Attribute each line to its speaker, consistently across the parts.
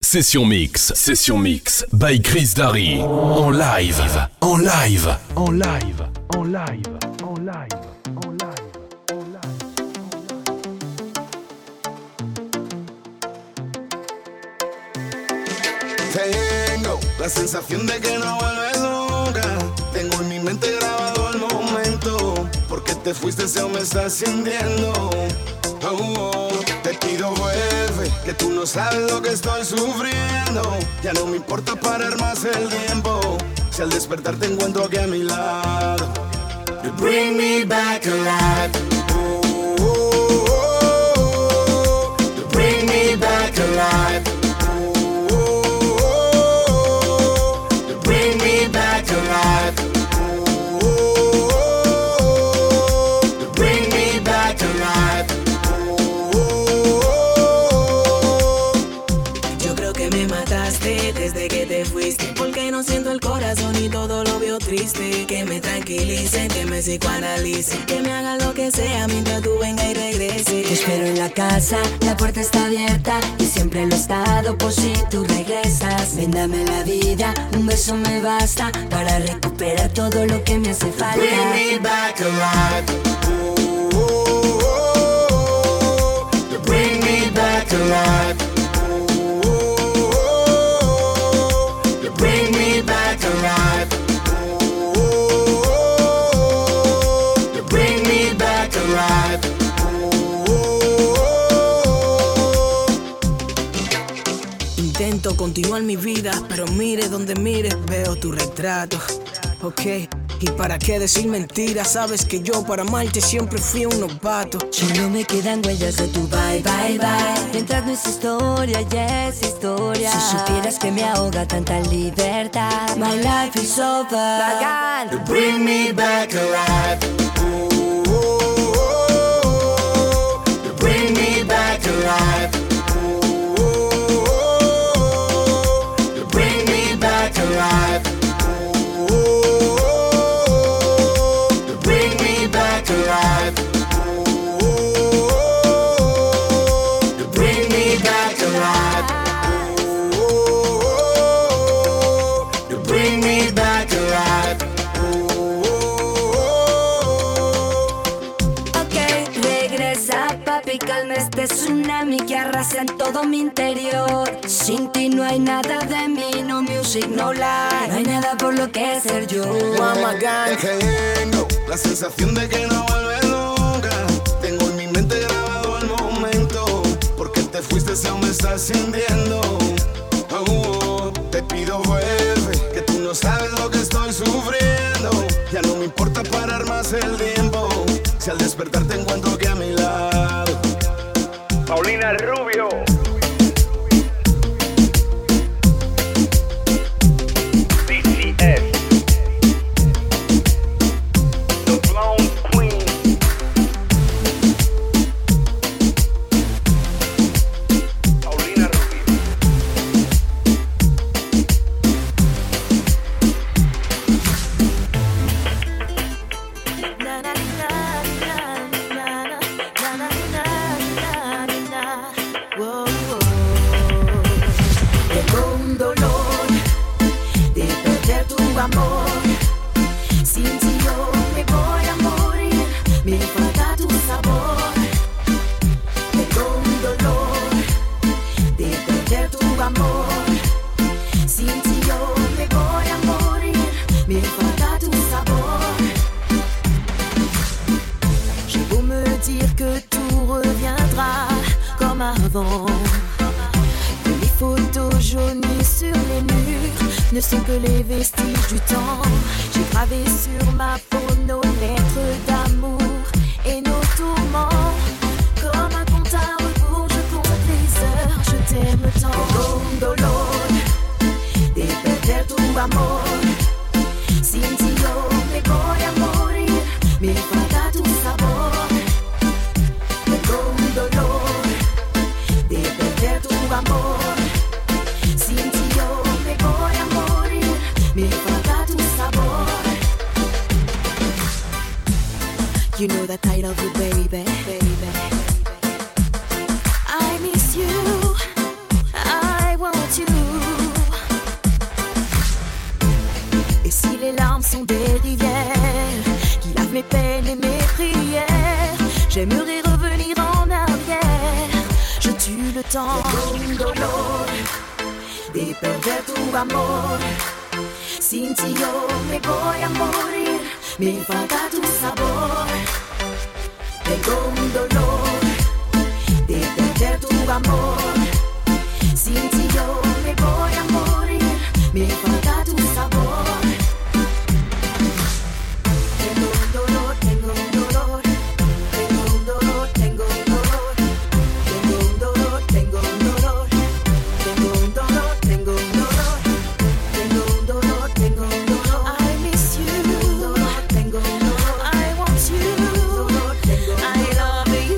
Speaker 1: Session Mix by Chris Darry. En live.
Speaker 2: Tengo la sensación de que no vuelves nunca. Tengo en mi mente grabado el momento. Porque te fuiste, se me está sintiendo. Te pido vuelve, que tú no sabes lo que estoy sufriendo. Ya no me importa parar más el tiempo. Si al despertar te encuentro aquí a mi lado. You bring me back alive. You bring me back alive. You bring me back alive. You bring me back alive.
Speaker 3: Desde que te fuiste, porque no siento el corazón y todo lo veo triste. Que me tranquilicen, que me psicoanalicen, que me hagan lo que sea mientras tú vengas y regreses.
Speaker 4: Te espero en la casa, la puerta está abierta y siempre lo he estado por si tú regresas. Ven, dame la vida, un beso me basta para recuperar todo lo que me hace falta.
Speaker 2: Bring me back alive. You bring me back alive. Bring me back alive. You bring me back alive.
Speaker 3: Intento continuar mi vida, pero mire donde mires, veo tu retrato. Ok, ¿y para qué decir mentiras? Sabes que yo para amarte siempre fui un novato.
Speaker 4: Solo me quedan huellas de tu bye, bye, bye. Mientras no es historia, ya es historia. Si supieras que me ahoga tanta libertad. My life is over. Bacán.
Speaker 2: You bring me back alive. You bring me back alive. You bring me back alive. You bring me back alive. You bring me back alive. You bring me back alive.
Speaker 4: Ok, regresa papi, calma este tsunami que arrasa en todo mi interior. Sin ti no hay nada de mí, no music, no life. No hay nada por lo que ser yo.
Speaker 2: Tengo la sensación de que no vuelves nunca. Tengo en mi mente grabado el momento. Porque te fuiste, se me está sintiendo. Te pido vuelve, que tú no sabes lo que estoy sufriendo. Ya no me importa parar más el tiempo. Si al despertar te encuentro aquí a mi lado.
Speaker 5: Paulina Rubio. DCS. The Blonde Queen. Paulina Rubio.
Speaker 6: Na na na na na na na na na na. Wow, wow. Tengo un dolor de perder tu amor. Sin ti yo me voy a morir. Me falta tu sabor. Tengo un dolor de perder tu amor. Sin ti yo me voy a morir. Me falta tu sabor. J'ai beau me dire que tout reviendra comme avant, que les photos jaunies sur les murs ne sont que les vestiges du temps. J'ai gravé sur ma peau nos lettres d'amour et nos tourments. Comme un compte à rebours, je compte les heures, je t'aime tant. Con dolor de perder tu amor. Sin ti yo me voy a morir. Me falta tu sabor. Tengo un dolor de perder tu amor. Sin ti yo me voy a morir. Me falta tu sabor. You know that I love you, baby. I miss you. I want you. sont des rivières qui lavent mes peines et mes prières. J'aimerais revenir en arrière. Je tue le temps. Tengo un dolor de perder tu amor. Sin ti yo me voy a morir. Me falta tu sabor. Tengo un dolor de perder tu amor. Sin ti yo me voy a morir. Me falta tu sabor. Tengo un dolor, tengo un dolor. Tengo un dolor, tengo un dolor. Tengo un dolor, tengo un dolor. Tengo un dolor, tengo un dolor. Tengo un dolor, tengo un dolor. I miss you. Tengo un dolor, I want you. I love you.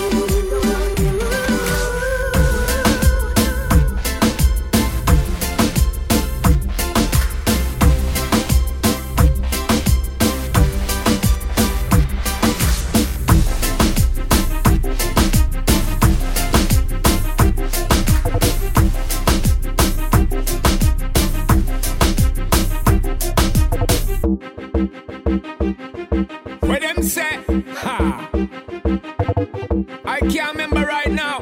Speaker 7: What them say? Ha! I can't remember right now.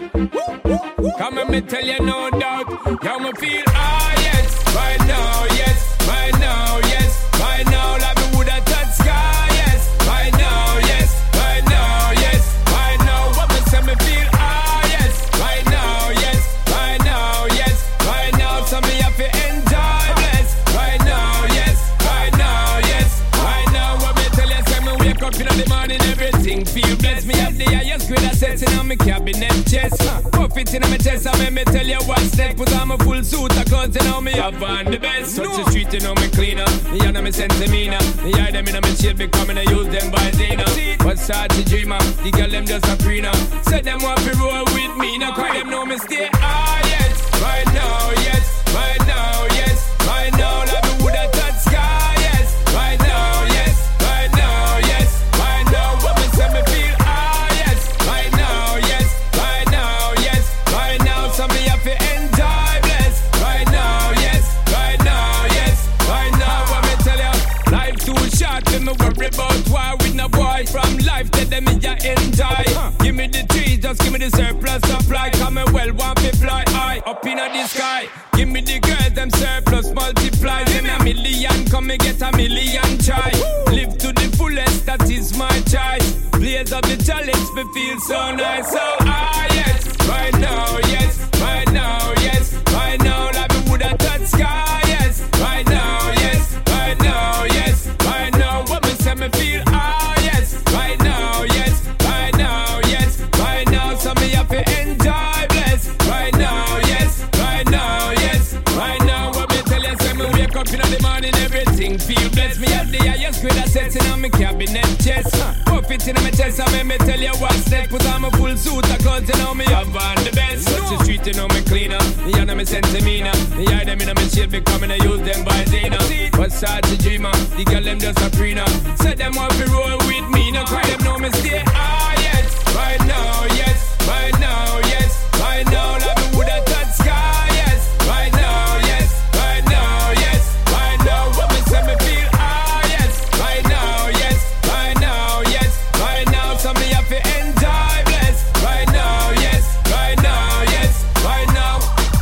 Speaker 7: Come and me tell you no doubt. How me feel? Ah yes, right now, yes, right now, yes, right now. Like me woulda touched sky, yes, right now, yes, right now, yes, right now. What me say me feel? Ah yes, right now, yes, right now, yes, right now. So me have to enjoy bless. Right now, yes, right now, yes, right now. What me tell you? Say me wake up in the morning, everything feel blessed. Me have the highest grade of setting on me cabinet chest. Puff it in my chest, I make me tell you what's next. Put on my full suit, I can't you know me have on the best. Touch the street, you know me cleaner. Me and me sense demeanor. Me hide them in my shade, becoming I use them by Zena. What's hard to dreamer? The girl them just a preener. Say them want to roll with me, now cry them know me stay. Ah yes, right now, yes, right now, yes, right now. Like me woulda touched sky, yes, right now, yes, right now, yes, right now. What me say me feel? Ah yes, right now, yes, right now, yes, right now. So me have to enjoy bless. Right now, yes, right now, yes, right now. What me tell you? Life too short, me worry about war with no boy. From life tell them me ya enjoy. Give me the trees, just give me the surplus supply. Come and well want to fly high up in the sky. Give me the girls, them surplus multiply. Give me a million, come and get a million try. Live to the fullest, that is my choice. Blaze up the challenge, me feel so nice. So ah yes, right now, yes, right now, yes, right now. Like me woulda touched sky, yes, right now, yes, right now, yes, right now. What me say me feel? Ah yes, right now, yes, right now, yes, right now. So me have to enjoy bless. Right now, yes, right now, yes, right now. What me tell you? Say me wake up in the morning, everything feel blessed. Me have the highest grade of setting on me cabinet chest. Puff it in my chest, I make me tell you what's next. Put on my full suit, I can't you know me have on the best. Touch the street, you know me cleaner. Me and me sense demeanor. Me hide them in my shade, becoming I use them by Zena. What's hard to dreamer? The girl them just a preener. Say them want to roll with me, now cry them know me stay. Ah yes, right now, yes, right now, yes, right now. Like me woulda touched sky, yes, right now, yes, right now, yes, right now. What me say me feel? Ah yes, right now, yes, right now, yes, right now. So me have to enjoy bless. Right now, yes, right now, yes, right now.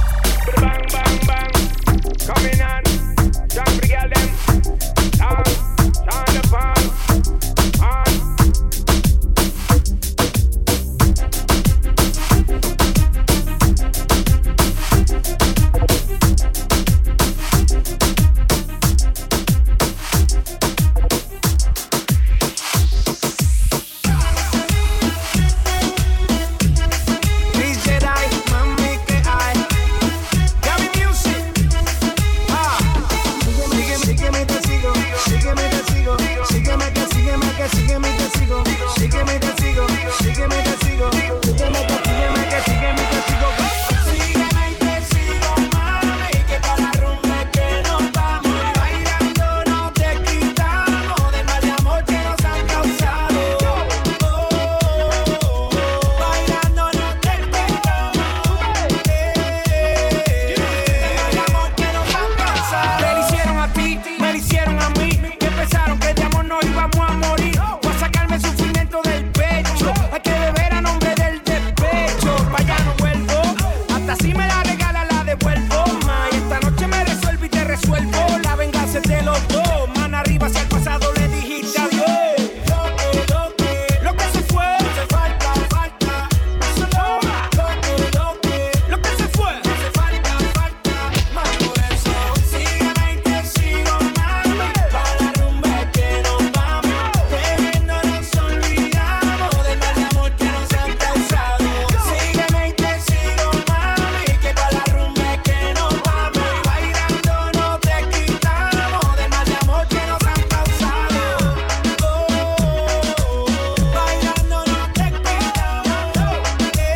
Speaker 5: Bang, bang, bang. Coming on. Jump the girl them. Down. Turn the pan. On.
Speaker 8: Si me la regala la devuelvo, ma. Y esta noche me resuelvo y te resuelvo. La venganza es de los dos. Man arriba hacia el pasado le dijiste adiós. Lo que se fue, hace falta. Eso no va. Lo que se fue, hace falta. Más por eso, sígueme y te sigo, mami. Pa' la rumba que nos vamos. Bebiendo nos olvidamos del mal amor que nos han causado. Sígueme y te sigo, mami. Que pa' la rumba que nos vamos. Y bailando no te quitamos del mal amor que nos han causado. Bailando no te quitamos del amor que nos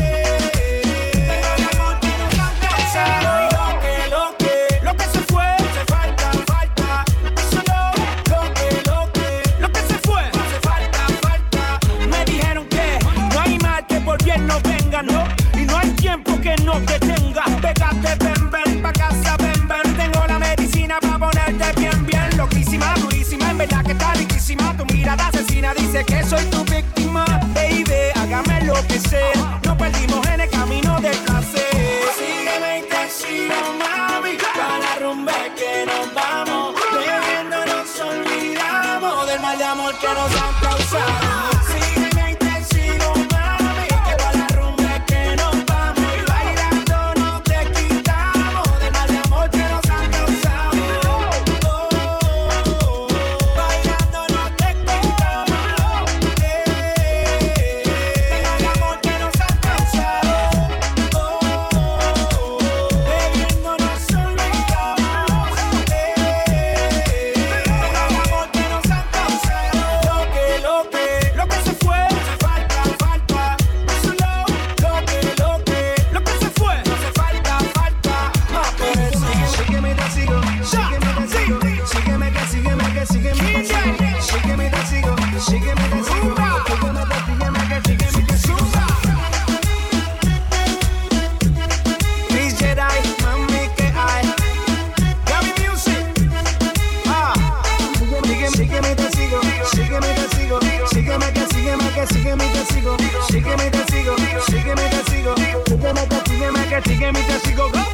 Speaker 8: han causado. Y lo que se fue, hace falta. Eso no, lo que se fue, hace falta. Me dijeron que no hay mal que por bien no venga, no. Y no hay tiempo que no te tenga. Pégate, ven, pa' casa, ven. Tengo la medicina pa' ponerte bien. Loquísima, durísima, en verdad que está riquísima. Tu mirada asesina dice que soy tu víctima. Baby, hágame lo que sea. Nos perdimos en el camino del placer. Sígueme y te sigo, mami. Pa' la rumba que nos vamos. Bebiendo nos olvidamos del mal de amor que nos han causado. Sígueme y te sigo, mami. Que pa' la rumba que nos vamos. Y bailando no te quitamos del mal de amor que nos han causado. Bailando no te quitamos del mal amor que nos han causado. Bebiendo nos olvidamos del amor que nos han causado. Lo que se fue, hace falta. Eso no, lo que se fue, hace falta. Más por eso. Sígueme y te sigo. Sígueme que sígueme. Sígueme y te sigo. Sígueme que sigo. Chris Jedi, mami que hay. Gaby Music. Sígueme y te sigo. Sígueme y te sigo. Sígueme que sígueme y te sigo. Sígueme y te sigo. Sígueme y te sigo. Go.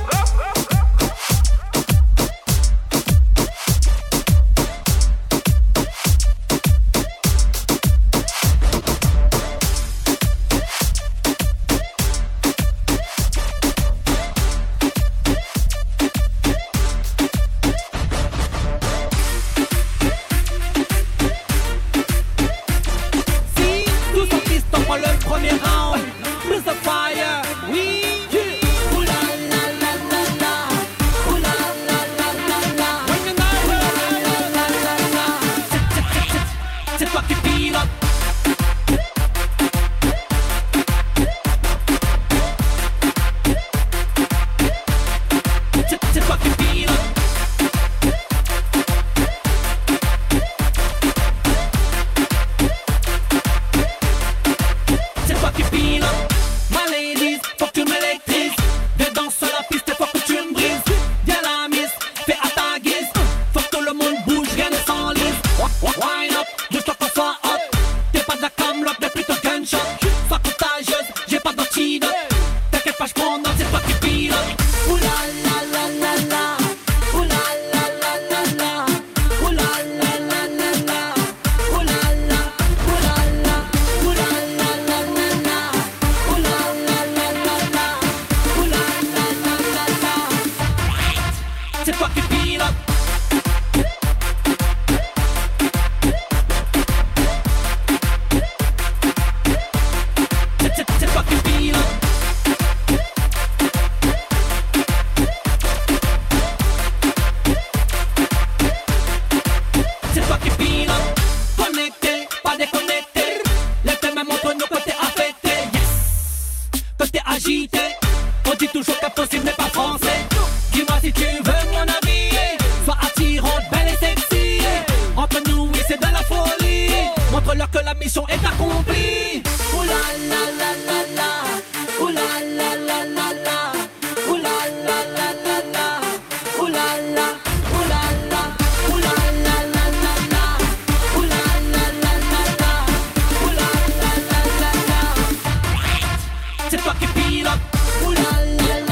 Speaker 9: Si tous sont pistes pour le premier round, plus de fire, oui. Ouh la la la la la, ouh la la la la la, when you know, la la la la la, c'est toi qui pilote. C'est toi qui pilote. C'est toi qui pilote. My ladies, faut que tu m'électrises. Dedans sur la piste, faut que tu me brises. Viens la miss, fais à ta guise. Faut que le monde bouge, rien ne s'enlise. Wine up, juste toi qu'on soit hot. T'es pas de la camelote, mais plutôt gunshot. Sois contagieuse, j'ai pas d'antidote. T'inquiète pas, j'prends note, c'est toi qui pilote. Ouh la la la la la, ouh la la la la la, ouh la la la la la, ouh la la, ouh la la, ouh la la la la la, ouh la la la la la, ouh la la la la la. C'est toi qui pilote. C'est toi qui pilote. C'est toi qui pilote. Connecté, pas déconnecté. Les thèmes montrent nos côtés affectés. Yes, côté agité. On dit toujours qu'impossible n'est pas français. Dis-moi si tu veux mon avis. Sois attirante, belle et sexy. Entre nous, oui, c'est de la folie. Montre-leur que la mission est accomplie. Ouh la la la la la, ouh la la la la la, ouh la la la la la, ouh la la, ouh la la, ouh la la la la la, ouh la la la la la, ouh la la la la la. C'est toi qui pilote. Ouh la la la.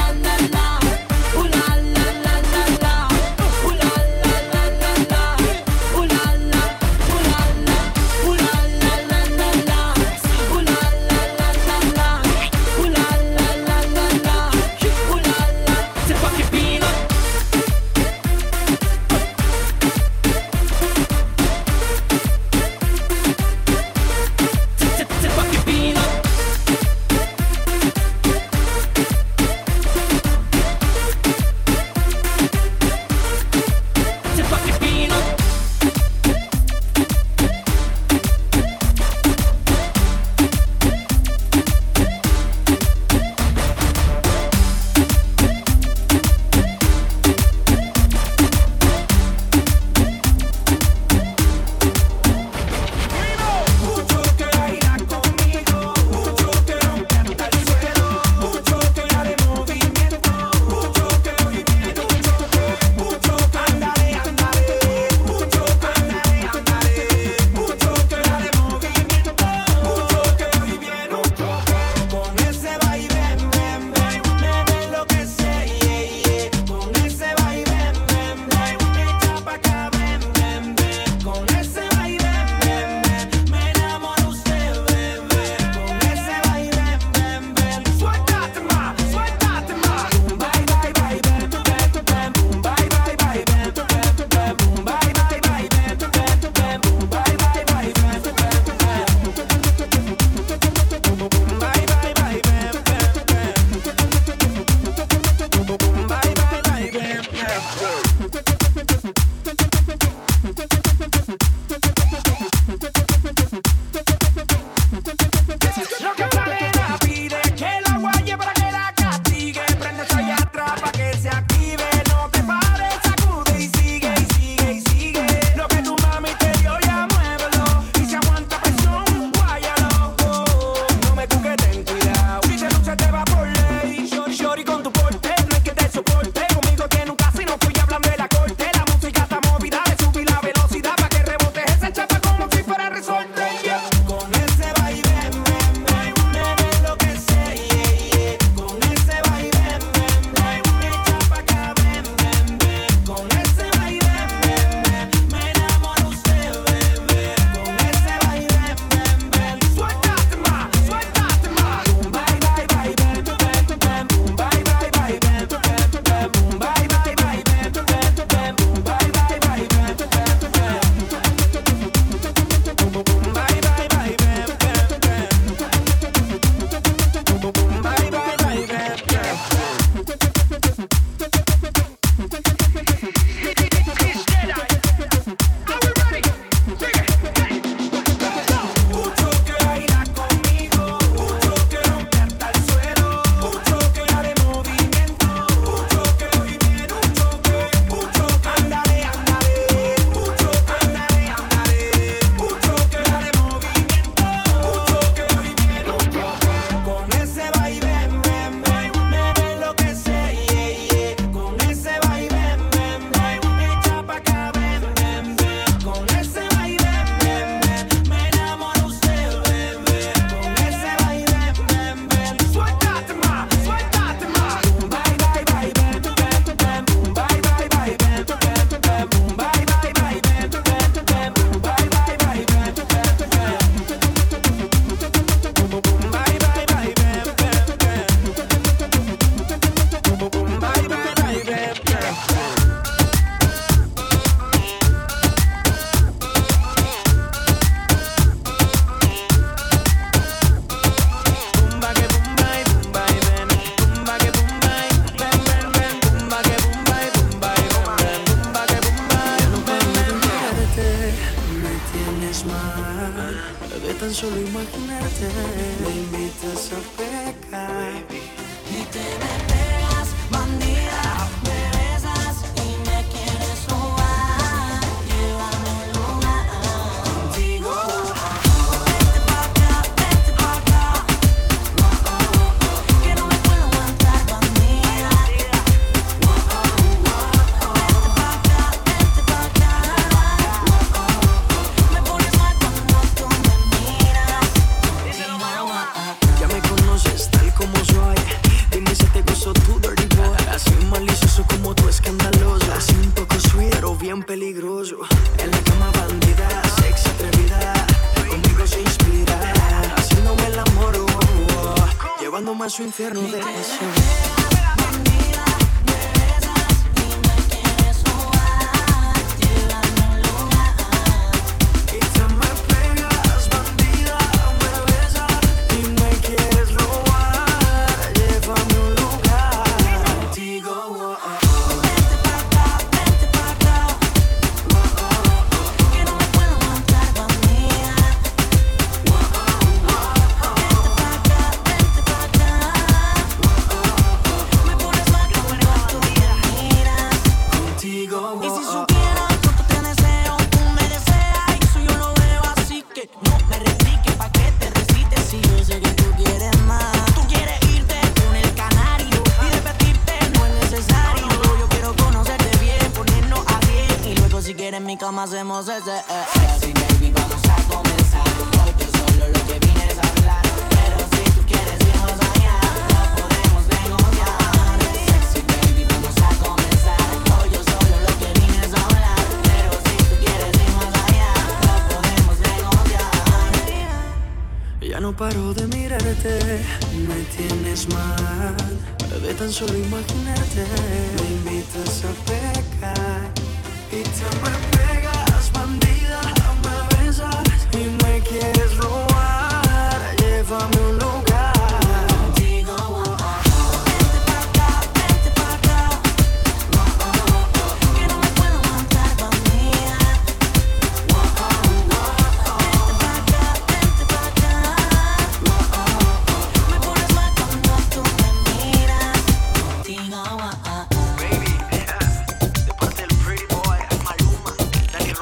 Speaker 10: solo imaginarte me invitas a pecar.
Speaker 11: Y te me pegas, bandida, me besas y me quieres robar. Llévame a un lugar contigo. Vete pa' acá, que no me puedo aguantar, bandida. Vete pa' acá, me pones mal cuando tú me miras.
Speaker 10: Ya me conoces tal como soy. Dime si te gustó tu dirty boy. Así malicioso como tú, escandaloso. Así un poco sweet, pero bien peligroso. En la cama bandida, sexy atrevida. Conmigo se inspira, haciéndome el amor, llevándome a su infierno de pasión.
Speaker 11: Hacemos ese sexy baby, vamos a comenzar. Hoy yo solo lo que vine es hablar, pero si tú quieres irnos allá, no podemos negociar. Sexy baby, vamos a comenzar. Hoy yo solo lo que vine es hablar, pero si tú quieres irnos allá, no podemos negociar.
Speaker 10: Ya no paro de mirarte, me tienes mal. De tan solo imaginarte, me invitas a pecar. Y te me pegas, bandida, me besas y me quieres robar. Llévame a un lugar contigo.
Speaker 11: Vete pa' acá, que no me puedo aguantar, bandida. Vete pa' acá, me pones mal cuando tú me miras. Contigo.
Speaker 10: Baby, de parte del pretty boy, Maluma, Daniel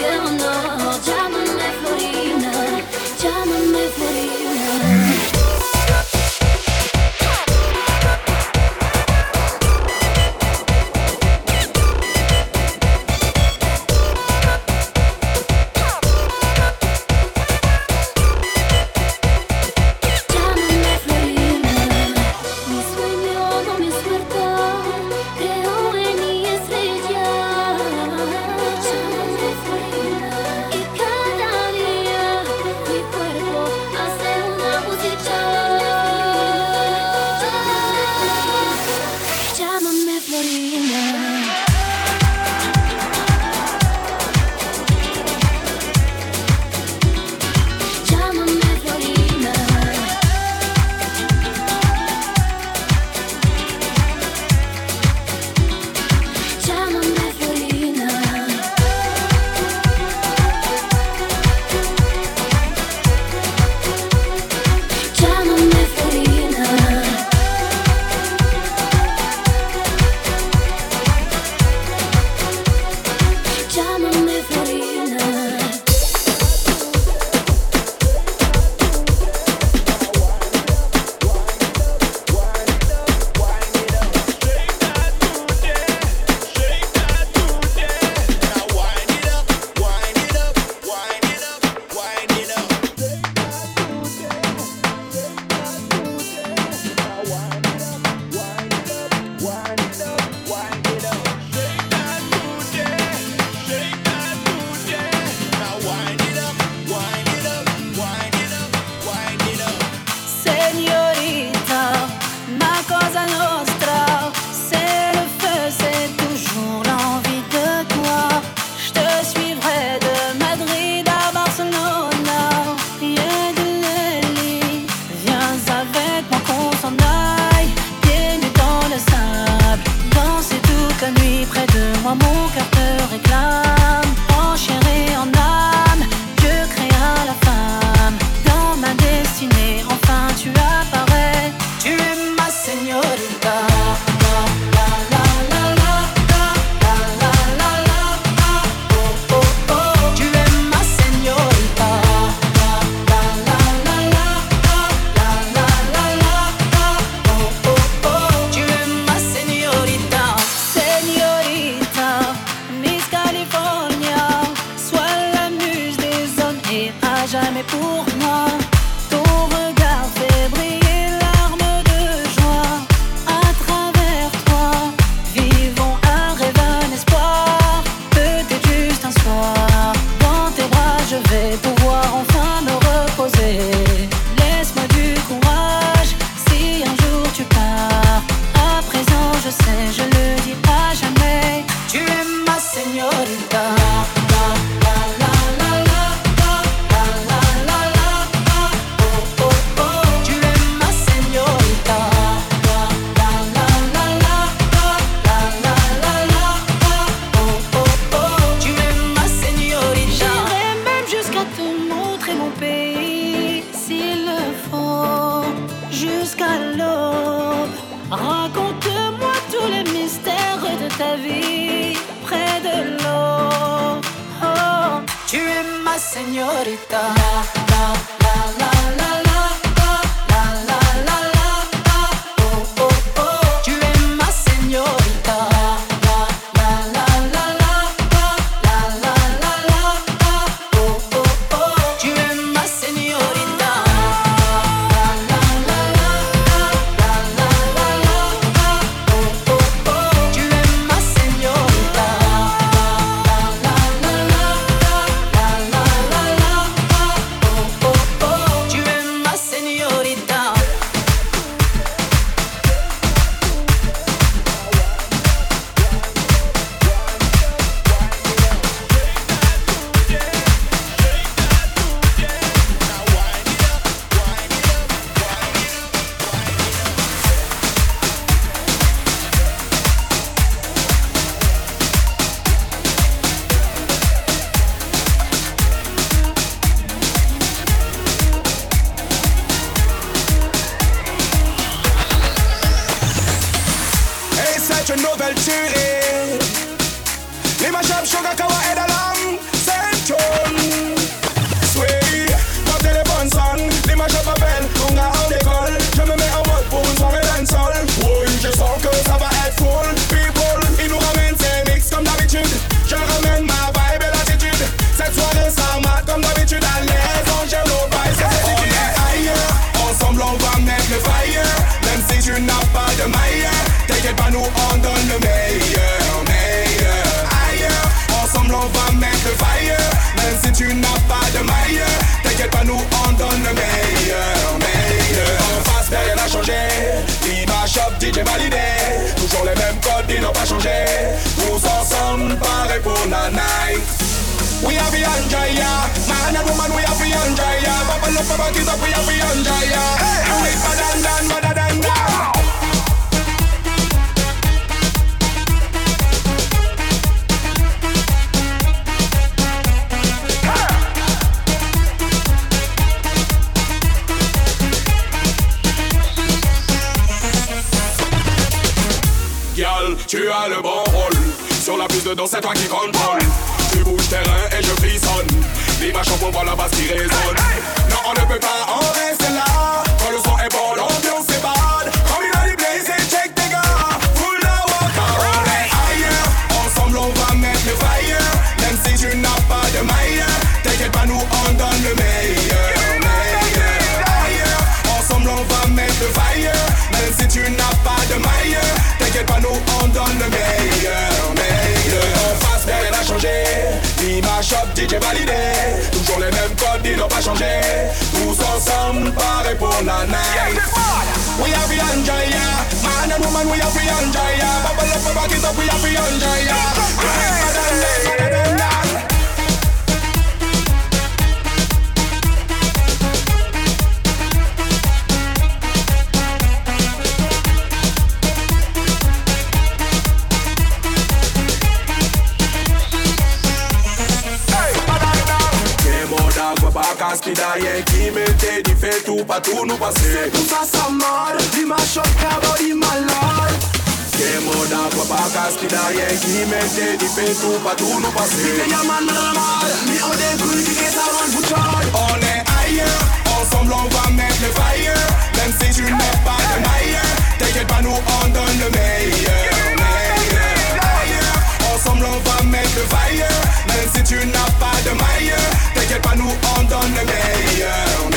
Speaker 6: Leonor, llámame Florina, llámame Florina.
Speaker 2: enjoy ya. Man and woman, we have to enjoy ya. Bubble up, back it up, we have to enjoy ya. And we better than that.
Speaker 12: Tu as le bon rôle. Sur la piste de danse, c'est toi qui contrôle. Tu bouges tes reins et je frissonne. L'image pour voir la basse qui résonne. Non, on ne peut pas en rester là. Quand le son est bon, l'ambiance est bad. Comme il a dit blaze et check tes gars. Full la waka, on est ailleurs. Ensemble on va mettre le fire. Même si tu n'as pas de maille, t'inquiète pas, nous on donne le meilleur. Ailleurs, ensemble on va mettre le fire. Même si tu n'as pas de maille, t'inquiète pas, nous on donne le meilleur. En face, rien n'a changé. L'image shop, DJ validé. Toujours les mêmes codes, ils n'ont pas changé. Tous ensemble, pareil pour la night.
Speaker 2: We have to enjoy ya. Man and woman, we have to enjoy ya. Bubble up, back it up, we have to enjoy ya.
Speaker 12: Rien qui m'était dit fait tout, pas tout nous passer.
Speaker 2: C'est tout ça, ça mode. L'image shop, body malade.
Speaker 12: Qu'est mode à quoi pas casse, rien qui m'était dit fait tout, pas tout nous passer.
Speaker 2: On est ailleurs, ensemble on va mettre le fire. Même si tu n'as pas de maille, t'inquiète pas, nous on donne le meilleur. Ailleurs, ensemble on va mettre le fire. Même si tu n'as pas de maille, t'inquiète pas, nous on donne le meilleur.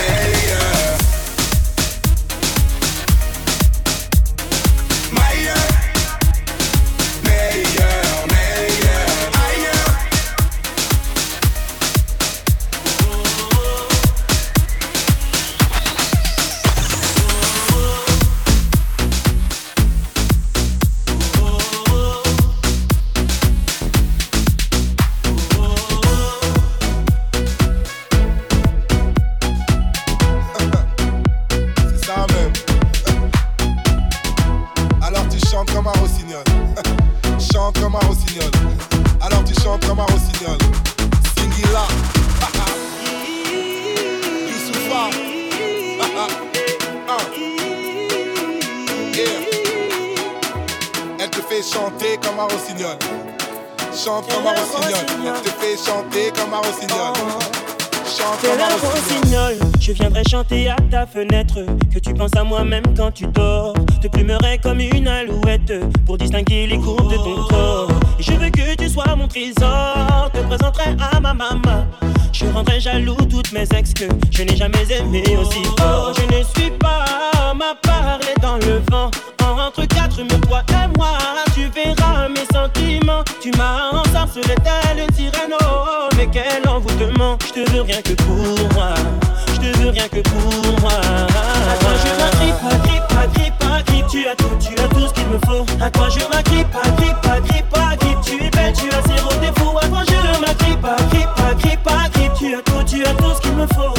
Speaker 13: Chante comme un rossignol, je te fais chanter comme un rossignol. Chante comme un
Speaker 14: rossignol. Je viendrai chanter à ta fenêtre. Que tu penses à moi même quand tu dors. Te plumerai comme une alouette pour distinguer les courbes de ton corps. Et je veux que tu sois mon trésor. Te présenterai à ma maman. Je rendrai jaloux toutes mes ex que je n'ai jamais aimé aussi fort. Je ne suis pas ma parler dans le vent. Entre quatre murs, toi et moi, tu verras mes sentiments. Tu m'as ensorcelé telle une sirène, oh, mais quel envoûtement. Je te veux rien que pour moi, je te veux rien que pour moi. À toi je m'agrippe, tu as tout ce qu'il me faut. À toi je m'agrippe, tu es belle, tu as zéro défaut. À toi je m'agrippe, tu as tout ce qu'il me faut.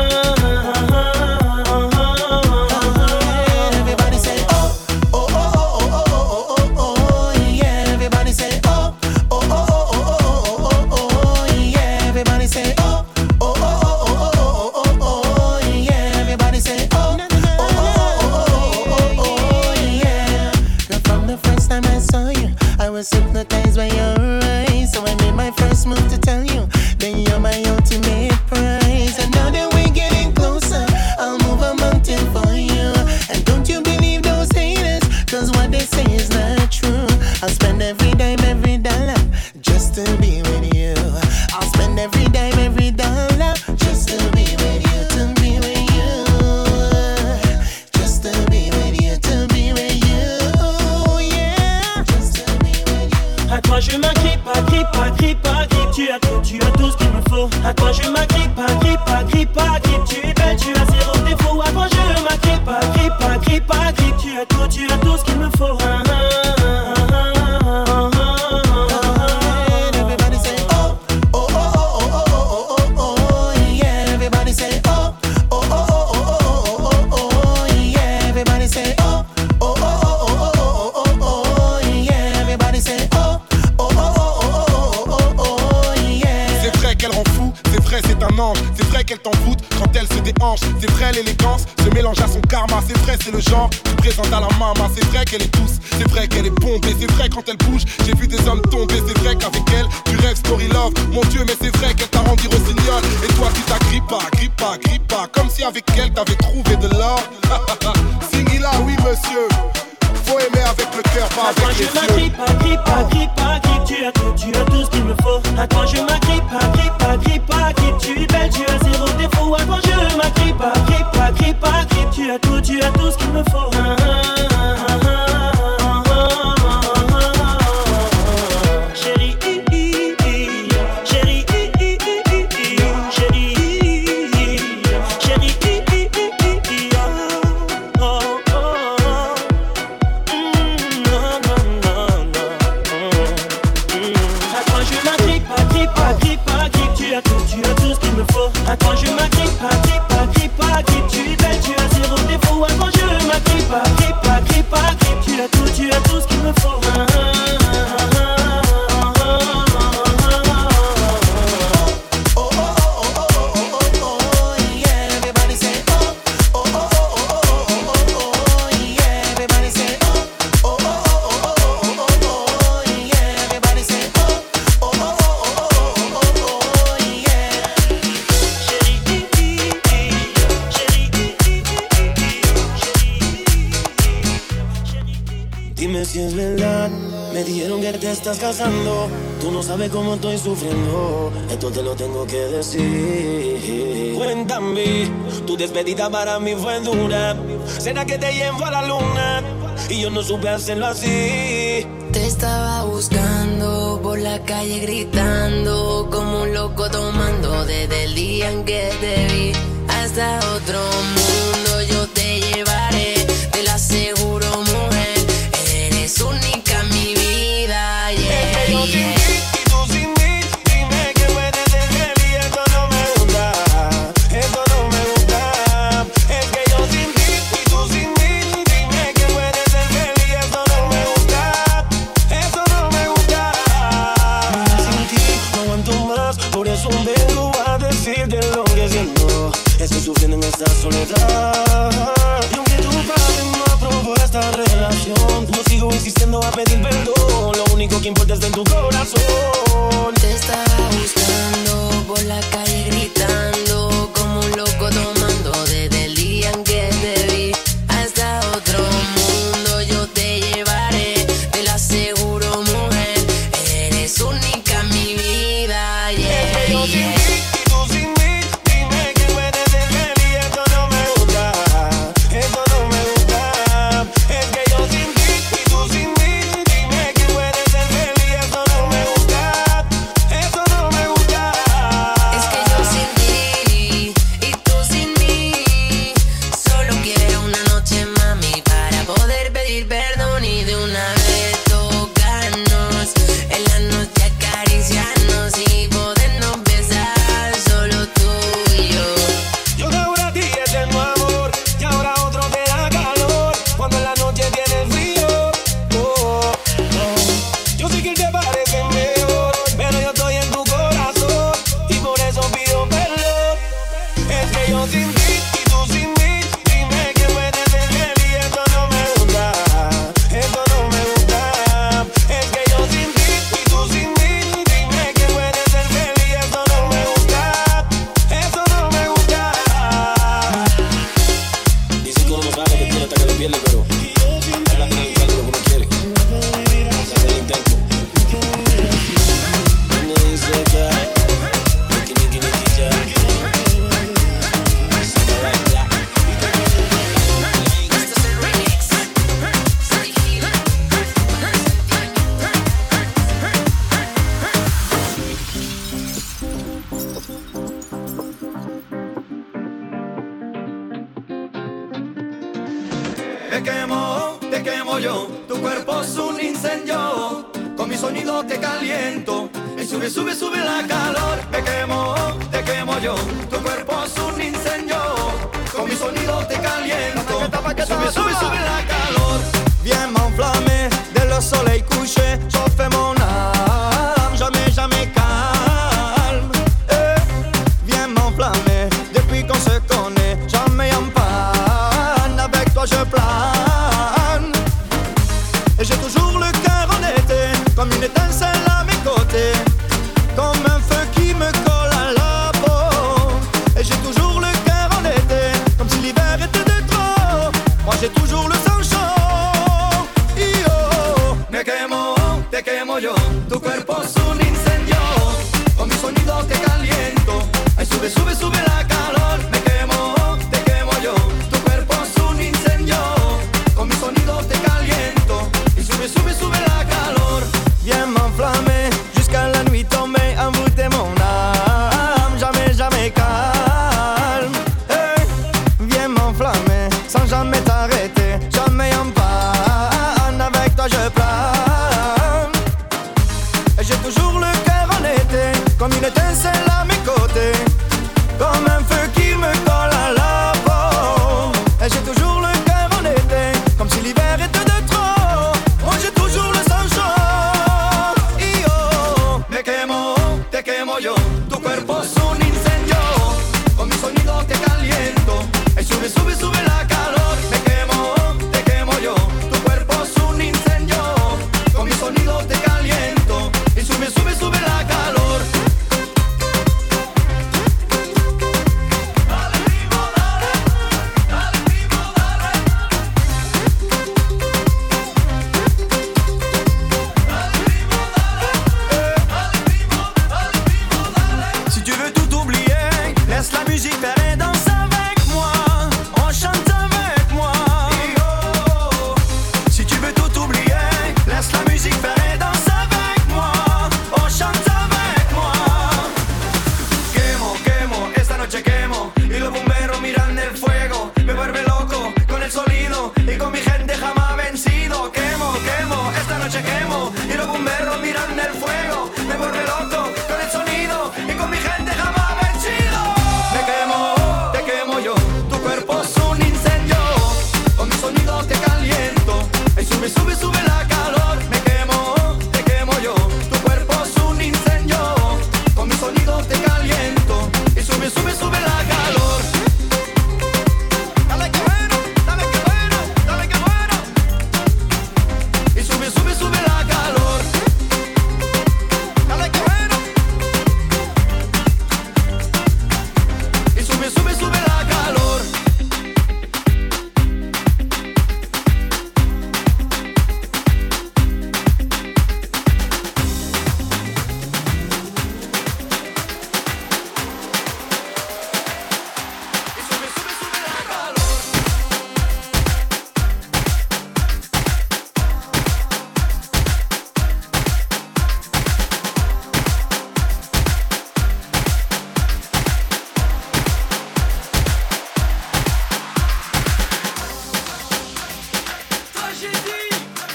Speaker 15: Hypnotized by your eyes, so I made my first move to tell you that you're my ultimate prize. And now that we're getting closer, I'll move a mountain for you. And don't you believe those haters, cause what they say is not true. I'll spend every dime, every dollar, just to be with you. I'll spend every dime, every dollar, just to be with you, to be with you. Just to be with you, to be with you, yeah. Just to be with you.
Speaker 14: À toi je m'agrippe, tu as tout ce qu'il me faut. À toi je m'agrippe, tu es belle, tu as zéro défaut. À toi je m'agrippe, tu as tout ce qu'il me faut.
Speaker 15: Everybody say oh, oh, oh, oh, oh, oh,
Speaker 13: vrai c'est un ange. C'est vrai qu'elle t'envoûte quand elle se déhanche. C'est vrai l'élégance se mélange à son karma. C'est vrai c'est le genre qui présente à la maman. C'est vrai qu'elle est douce, c'est vrai qu'elle est bombée. C'est vrai quand elle bouge, j'ai vu des hommes tomber. C'est vrai qu'avec elle, tu rêves story love. Mon Dieu mais c'est vrai qu'elle t'a rendu rossignol. Et toi tu t'agrippes pas, comme si avec elle t'avais trouvé de l'or. Singila, oui monsieur. Faut aimer avec le cœur, pas avec les yeux.
Speaker 14: À toi je m'agrippe, tu as tout ce qu'il me faut. À toi je m'agrippe, tu es belle, tu as zéro défaut. À toi je m'agrippe, tu as tout ce qu'il me faut. Chérie, à toi je m'agrippe, tu es belle, tu as zéro défaut. À toi je m'agrippe, tu as tout ce qu'il me faut.
Speaker 16: Si es verdad, me dijeron que te estás casando. Tú no sabes cómo estoy sufriendo. Esto te lo tengo que decir. Cuéntame, tu despedida para mí fue dura. ¿Será que te llevo a la luna? Y yo no supe hacerlo así.
Speaker 4: Te estaba buscando por la calle gritando como un loco tomando desde el día en que te vi. Hasta otro mundo yo te llevaré, te lo aseguro, mujer. Eres única en mi vida, yeah,
Speaker 16: yo sin ti y tú sin mí, dime que puedes ser feliz. Esto no me gusta, esto no me gusta. Es que yo sin ti y tú sin mí, dime que puedes ser feliz. Esto no me gusta, esto no me gusta. Sin ti no aguanto más, por eso vengo a decirte lo que siento. Estoy sufriendo en esta soledad. Y aunque tu padre no aprobó esta relación, no sigo insistiendo a pedir perdón. Lo único que importa es de tu corazón.
Speaker 4: Te estaba buscando por la calle gritando como un loco tomando desde el día en que te vi. Hasta otro mundo yo te llevaré, te lo aseguro, mujer. Eres única en mi vida, yeah,
Speaker 16: es que yo sin ti y tú sin mí, dime que puedes ser feliz. Esto no me gusta, esto no me gusta. Es que yo sin ti y tú sin mí, dime que puedes ser feliz. Esto no me gusta, esto no me gusta.
Speaker 4: Es que yo sin ti y tú sin mí, solo quiero una noche, mami, para poder pedir perdón y de una vez tocarnos en la noche, acariciarnos y podernos besar, solo tú y yo.
Speaker 16: Yo de ahora a ti eterno amor, y ahora otro te da calor cuando en la noche tienes frío. Oh, oh. Yo sé que él te parece mejor, pero yo estoy en tu corazón y por eso pido perdón. Es que yo sin ti y tú sin mí, dime que puedes ser feliz. Esto no me gusta, esto no me gusta. Es que yo sin ti y tú sin mí, dime que puedes ser feliz. Esto no me gusta, esto no me gusta. Dicen que uno no sabe que tiene hasta que lo pierde, pero ahora tiene que buscar lo que uno quiere. Se hace el intento. Me dice que Niki ya.
Speaker 17: Te quemo yo, tu cuerpo es un incendio, con mi sonido te caliento, y sube, sube, sube la calor. Te quemo yo, tu cuerpo es un incendio, con mi sonido te caliento, sube, sube, sube la calor. Viens m'enflammer, dès le soleil couché, chauffer mon âme, jamais, jamais calme. Laisse la musique faire et danse avec moi. On chante avec moi. Si tu veux tout oublier, laisse la musique faire et danse avec moi. On chante avec moi. Quemo, quemo, esta noche quemo. Y los bomberos miran el fuego. Me vuelve loco con el sonido y con mi gente jamás vencido. Quemo, quemo, esta noche quemo. Y los bomberos miran el fuego. Me vuelve loco con el sonido y con mi gente jamás vencido. Me quemo, te quemo yo. Tu cuerpo es un incendio. Con mi sonido te caliento. Y sube, sube, sube la calor. Me quemo, te quemo yo. Tu cuerpo es un incendio. Con mi sonido te caliento. Y sube, sube, sube la calor. Dale que bueno, dale que bueno, dale que bueno. Y sube, sube, sube la calor. Dale que bueno. Y sube, sube, sube la calor. Tragédie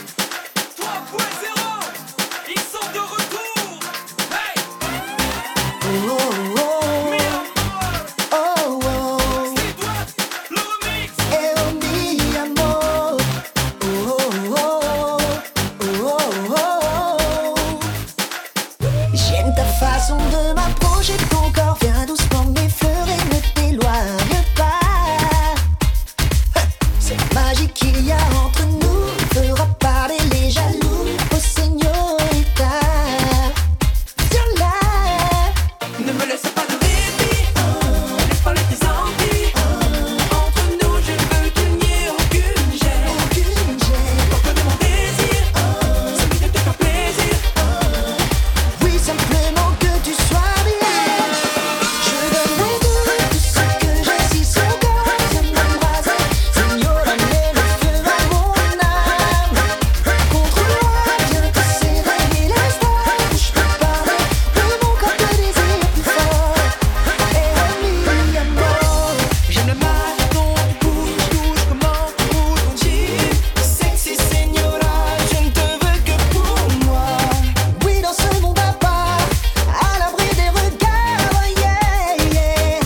Speaker 17: 3.0, ils sont de retour. Hey!
Speaker 15: Oh, oh, oh. Oh, oh.
Speaker 17: Le remix.
Speaker 15: Oh, mi amor. Oh, oh, oh. Oh, oh, oh. J'aime ta façon de m'approcher, ton corps vient doucement m'effleurer, ne t'éloigne pas. Cette magie qu'il y a entre nous fera parler les jaloux. Oh señorita, viens là.
Speaker 17: Ne me laisse pas de répit, laisse parler tes envies. Entre nous, je veux qu'il n'y ait aucune gêne. Porte de mon désir, celui de te faire plaisir.
Speaker 15: Oui, simplement que tu sois bien. Je donnerai tout ce que j'ai si son corps vient m'embraser. Señora, mets le feu à mon âme. Contre-moi, viens te serrer l'instant où je peux parler de mon corps de désir plus fort. Et mi amor.
Speaker 17: J'aime le mal, ton bouge, touche, comment bouge ton jean.
Speaker 15: Sexy señora, je ne te veux que pour moi. Oui, dans ce monde à part, à l'abri des regards, yeah, yeah.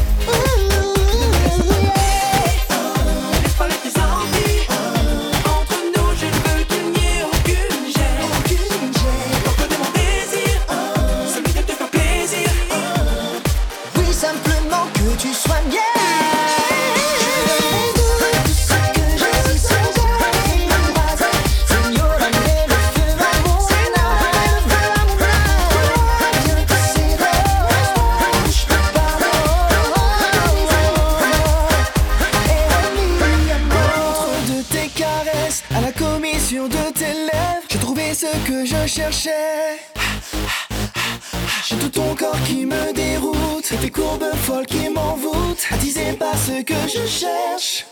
Speaker 17: Laisse parler tes envies. Entre nous, je veux qu'il n'y ait aucune gêne. Porte de mon désir, celui de te faire plaisir.
Speaker 15: Oui, simplement que tu sois bien. Tout ce que j'ai si son corps vient m'embraser. Señora, mets le feu à mon âme. Viens te serrer l'instant où je peux parler. Et mi amor.
Speaker 17: De tes caresses à la commission de tes lèvres, j'ai trouvé ce que je cherchais. J'ai tout ton corps qui me déroute, et tes courbes folles qui m'envoûtent, attisé par ce que je cherche.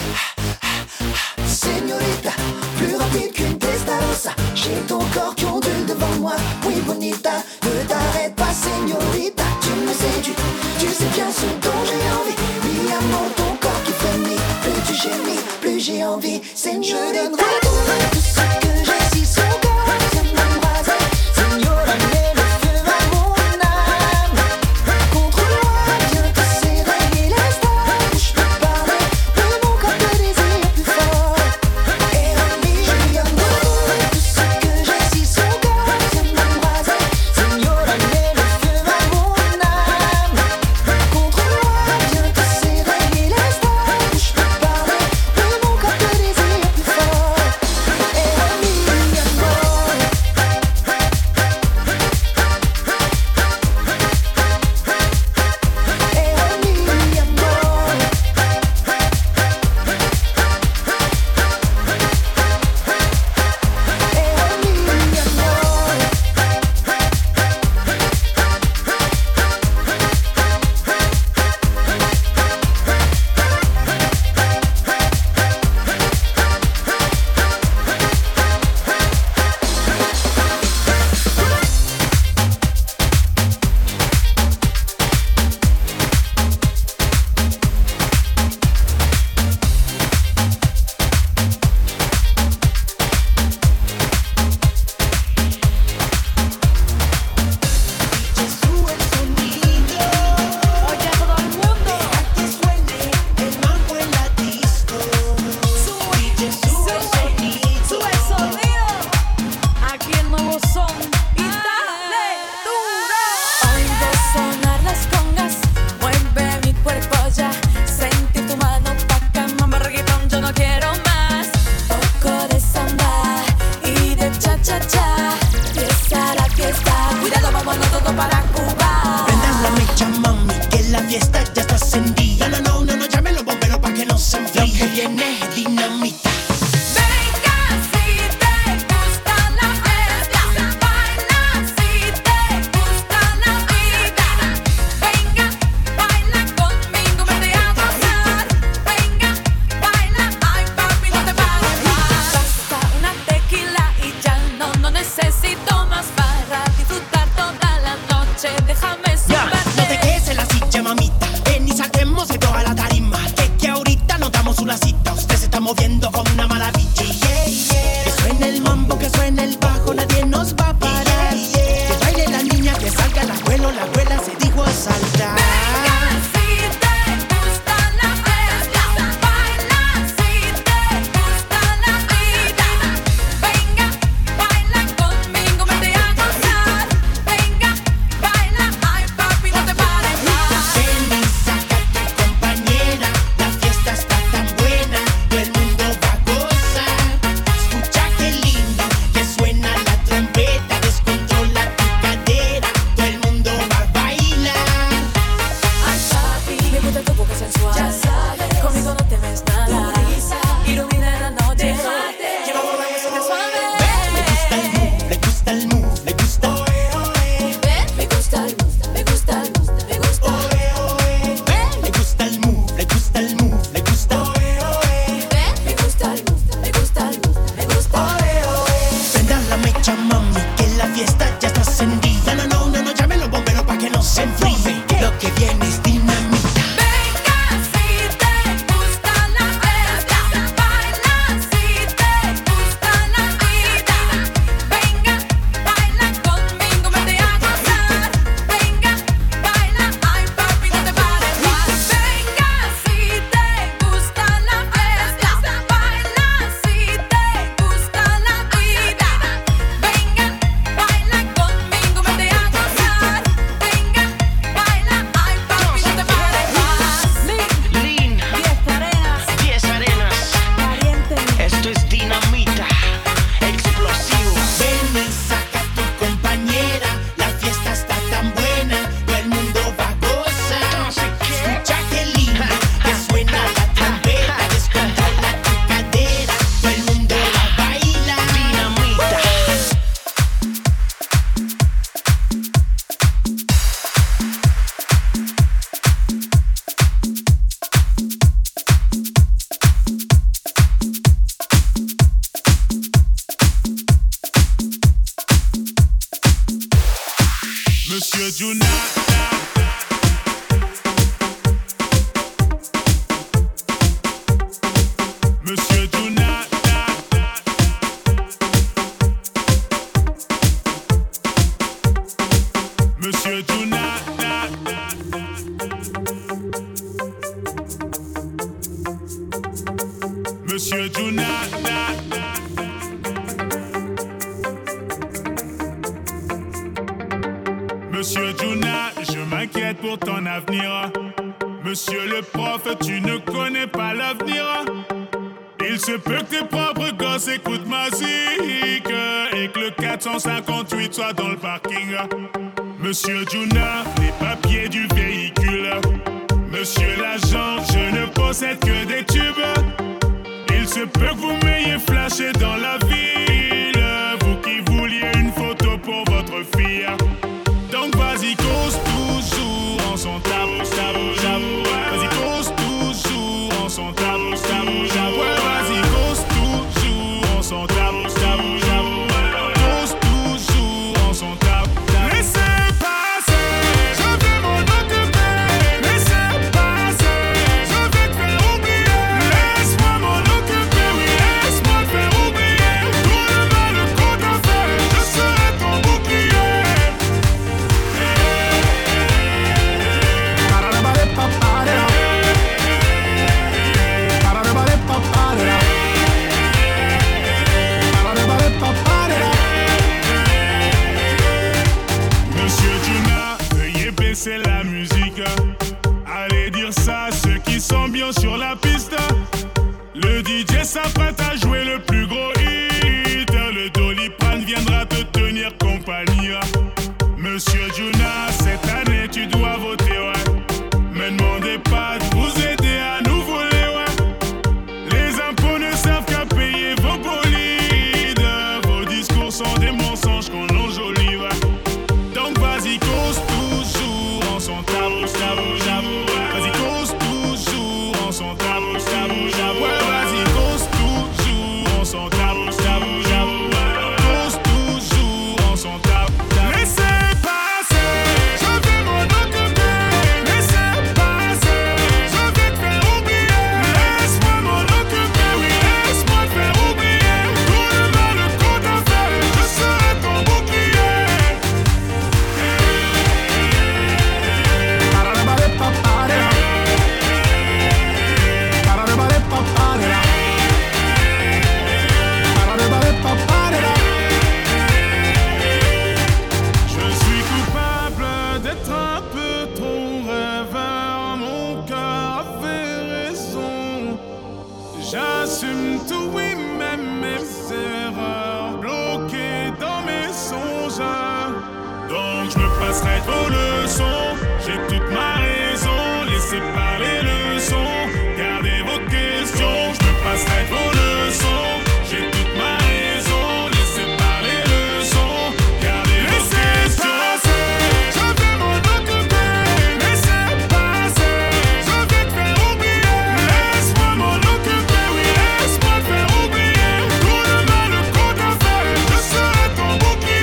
Speaker 15: Señorita, plus rapide qu'une testarossa. J'ai ton corps qui ondule devant moi. Oui, bonita, ne t'arrête pas, señorita. Tu me séduis, tu sais bien ce dont j'ai envie. Mi amor, ton corps qui frémit. Plus tu gémis, plus j'ai envie. Señorita, je donnerai tout ce que j'ai si son corps vient m'embraser. Señora, mets le feu à mon âme. Contre-moi, viens te serrer l'instant où je peux parler de mon corps de désir plus fort. Et mi amor, tout ce que j'ai si son corps vient m'embraser. Señora, mets le feu à mon âme. Contre-moi, viens te serrer l'instant où je peux parler de mon corps de désir plus fort. fiesta ya está encendida. No, llamen los bomberos pa' que no se enfríe. Lo que viene es dinamita.
Speaker 10: Moviendo como una maravilla, que suene el mambo, que suene el bajo, nadie nos va a parar. Que baile la niña, que salga el abuelo, la abuela se dijo a saltar.
Speaker 18: Monsieur Juna. Monsieur Juna, je m'inquiète pour ton avenir. Monsieur le prof, tu ne connais pas l'avenir. Il se peut que tes propres gosses écoutent ma musique et que le 458 soit dans le parking. Monsieur Juna, les papiers du véhicule. Monsieur l'agent, je ne possède que des tubes. Il se peut que vous m'ayez flashé dans la ville, vous qui vouliez une photo pour votre fille. Donc vas-y, cause toujours en son tabou, tabou, tabou. Vas-y, cause toujours en son tabou, tabou, tabou. Vas-y, cause toujours en son tabou, tabou, tabou. Cause toujours en son tabou. Laissez passer, je vais m'en occuper. Laissez passer, je vais te faire oublier. Laisse-moi m'en occuper, oui, laisse-moi te faire oublier. Tout le mal qu'on t'a fait, je serai ton bouclier. Monsieur Juna, veuillez baisser la musique. Allez dire ça à ceux qui sont bien sur la piste. Le DJ s'apprête à jouer le plus gros hit. Le Doliprane viendra te tenir compagnie. Monsieur Juna, cette année tu dois voter, ouais. J'assume tout, oui, même mes erreurs, bloquées dans mes songes. Donc je me passerai vos leçons, j'ai toute ma raison, laissez parler le son, gardez vos questions. Je me passerai vos leçons, j'ai toute ma raison, laissez parler le son, gardez vos questions. Je vais m'en occuper, laissez passer, je vais te faire oublier. Laisse-moi m'en occuper, oui, laisse-moi te faire oublier. Tout le mal qu'on t'a fait, je serai ton bouclier.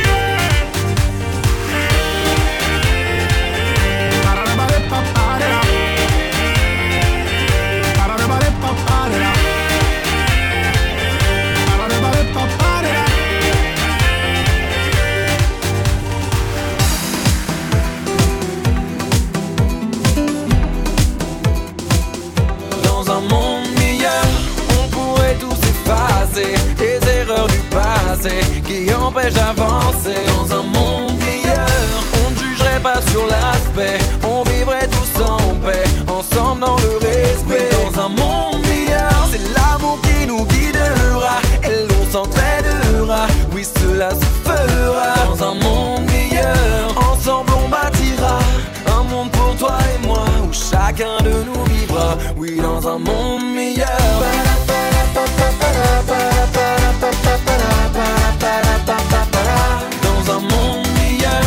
Speaker 19: Dans un monde meilleur, on pourrait tous effacer les erreurs du passé qui empêchent d'avancer. Dans un monde meilleur, on ne jugerait pas sur l'aspect, on vivrait tous en paix, ensemble dans le respect. Dans un monde meilleur, c'est l'amour qui nous guidera et l'on s'entraidera, oui cela se fera. Dans un monde meilleur, ensemble on bâtira un monde pour toi et moi où chacun de nous vivra, oui dans un monde meilleur. Dans un monde meilleur.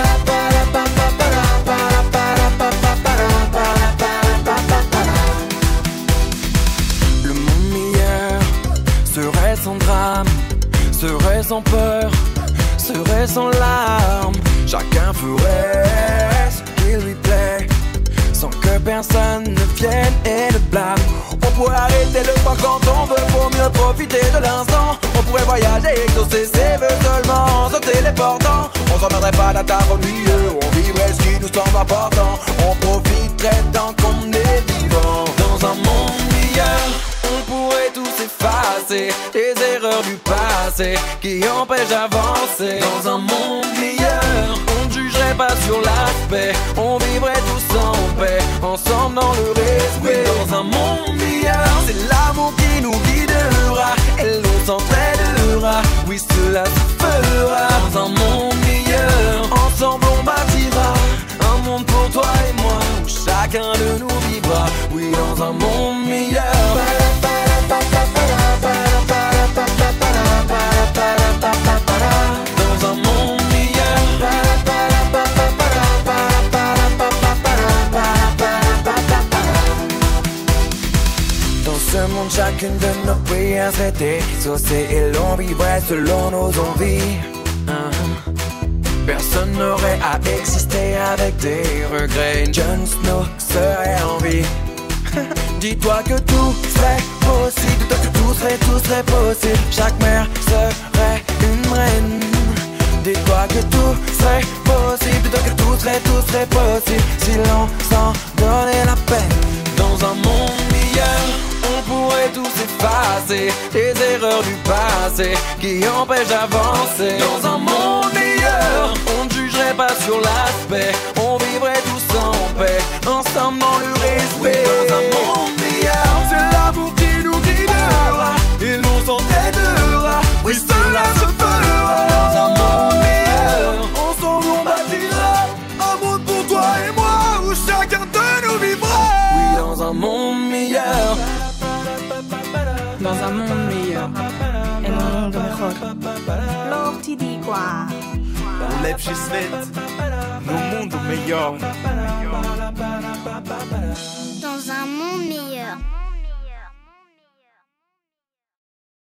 Speaker 19: Le monde meilleur serait sans drame, serait sans peur, serait sans larmes. Chacun ferait ce qu'il lui plaît, sans que personne ne vienne et le blâme. On pourrait arrêter le temps quand on veut pour mieux profiter de l'instant. On pourrait voyager, exaucer ses vœux seulement, se téléportant. On s'en rendrait pas d'un tas ennuyeux, on vivrait ce qui nous semble important. On profiterait tant qu'on est vivant. Dans un monde meilleur, on pourrait tous effacer les erreurs du passé qui empêchent d'avancer. Dans un monde meilleur, on ne jugerait pas sur l'aspect, on vivrait tous en paix, ensemble dans le respect. Dans un monde meilleur, c'est l'amour qui nous guidera et l'on s'entraidera, oui cela se fera. Dans un monde meilleur, ensemble on bâtira un monde pour toi et moi où chacun de nous vivra, oui dans un monde meilleur. Dans un monde meilleur. Dans ce monde, chacune de nos prières serait exaucée et l'on vivrait selon nos envies. Personne n'aurait à exister avec des regrets. Jon Snow serait en vie. Dis-toi que tout serait possible, dis-toi que tout serait possible. Chaque mère serait une reine. Dis-toi que tout serait possible, dis-toi que tout serait possible si l'on s'en donnait la peine. Dans un monde meilleur, on pourrait tous effacer les erreurs du passé qui empêchent d'avancer. Dans un monde meilleur, on ne jugerait pas sur l'aspect, on vivrait tous en paix, ensemble dans le respect. Dans un monde meilleur, c'est l'amour qui nous guidera et l'on s'entraidera, oui cela se fera. Dans un monde meilleur, ensemble on bâtira un monde pour toi et moi où chacun de nous vivra, oui dans un monde meilleur.
Speaker 20: Dans un monde meilleur, en un mundo mejor. Lo ti dico.
Speaker 21: Lepszy świat, no mundo meilleur.
Speaker 22: Dans un monde meilleur.